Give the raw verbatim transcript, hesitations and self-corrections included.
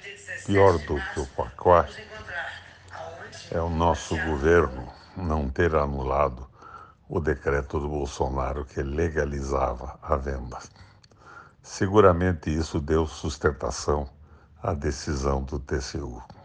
Pior do que o pacote é o nosso governo não ter anulado o decreto do Bolsonaro que legalizava a venda. Seguramente isso deu sustentação à decisão do T C U.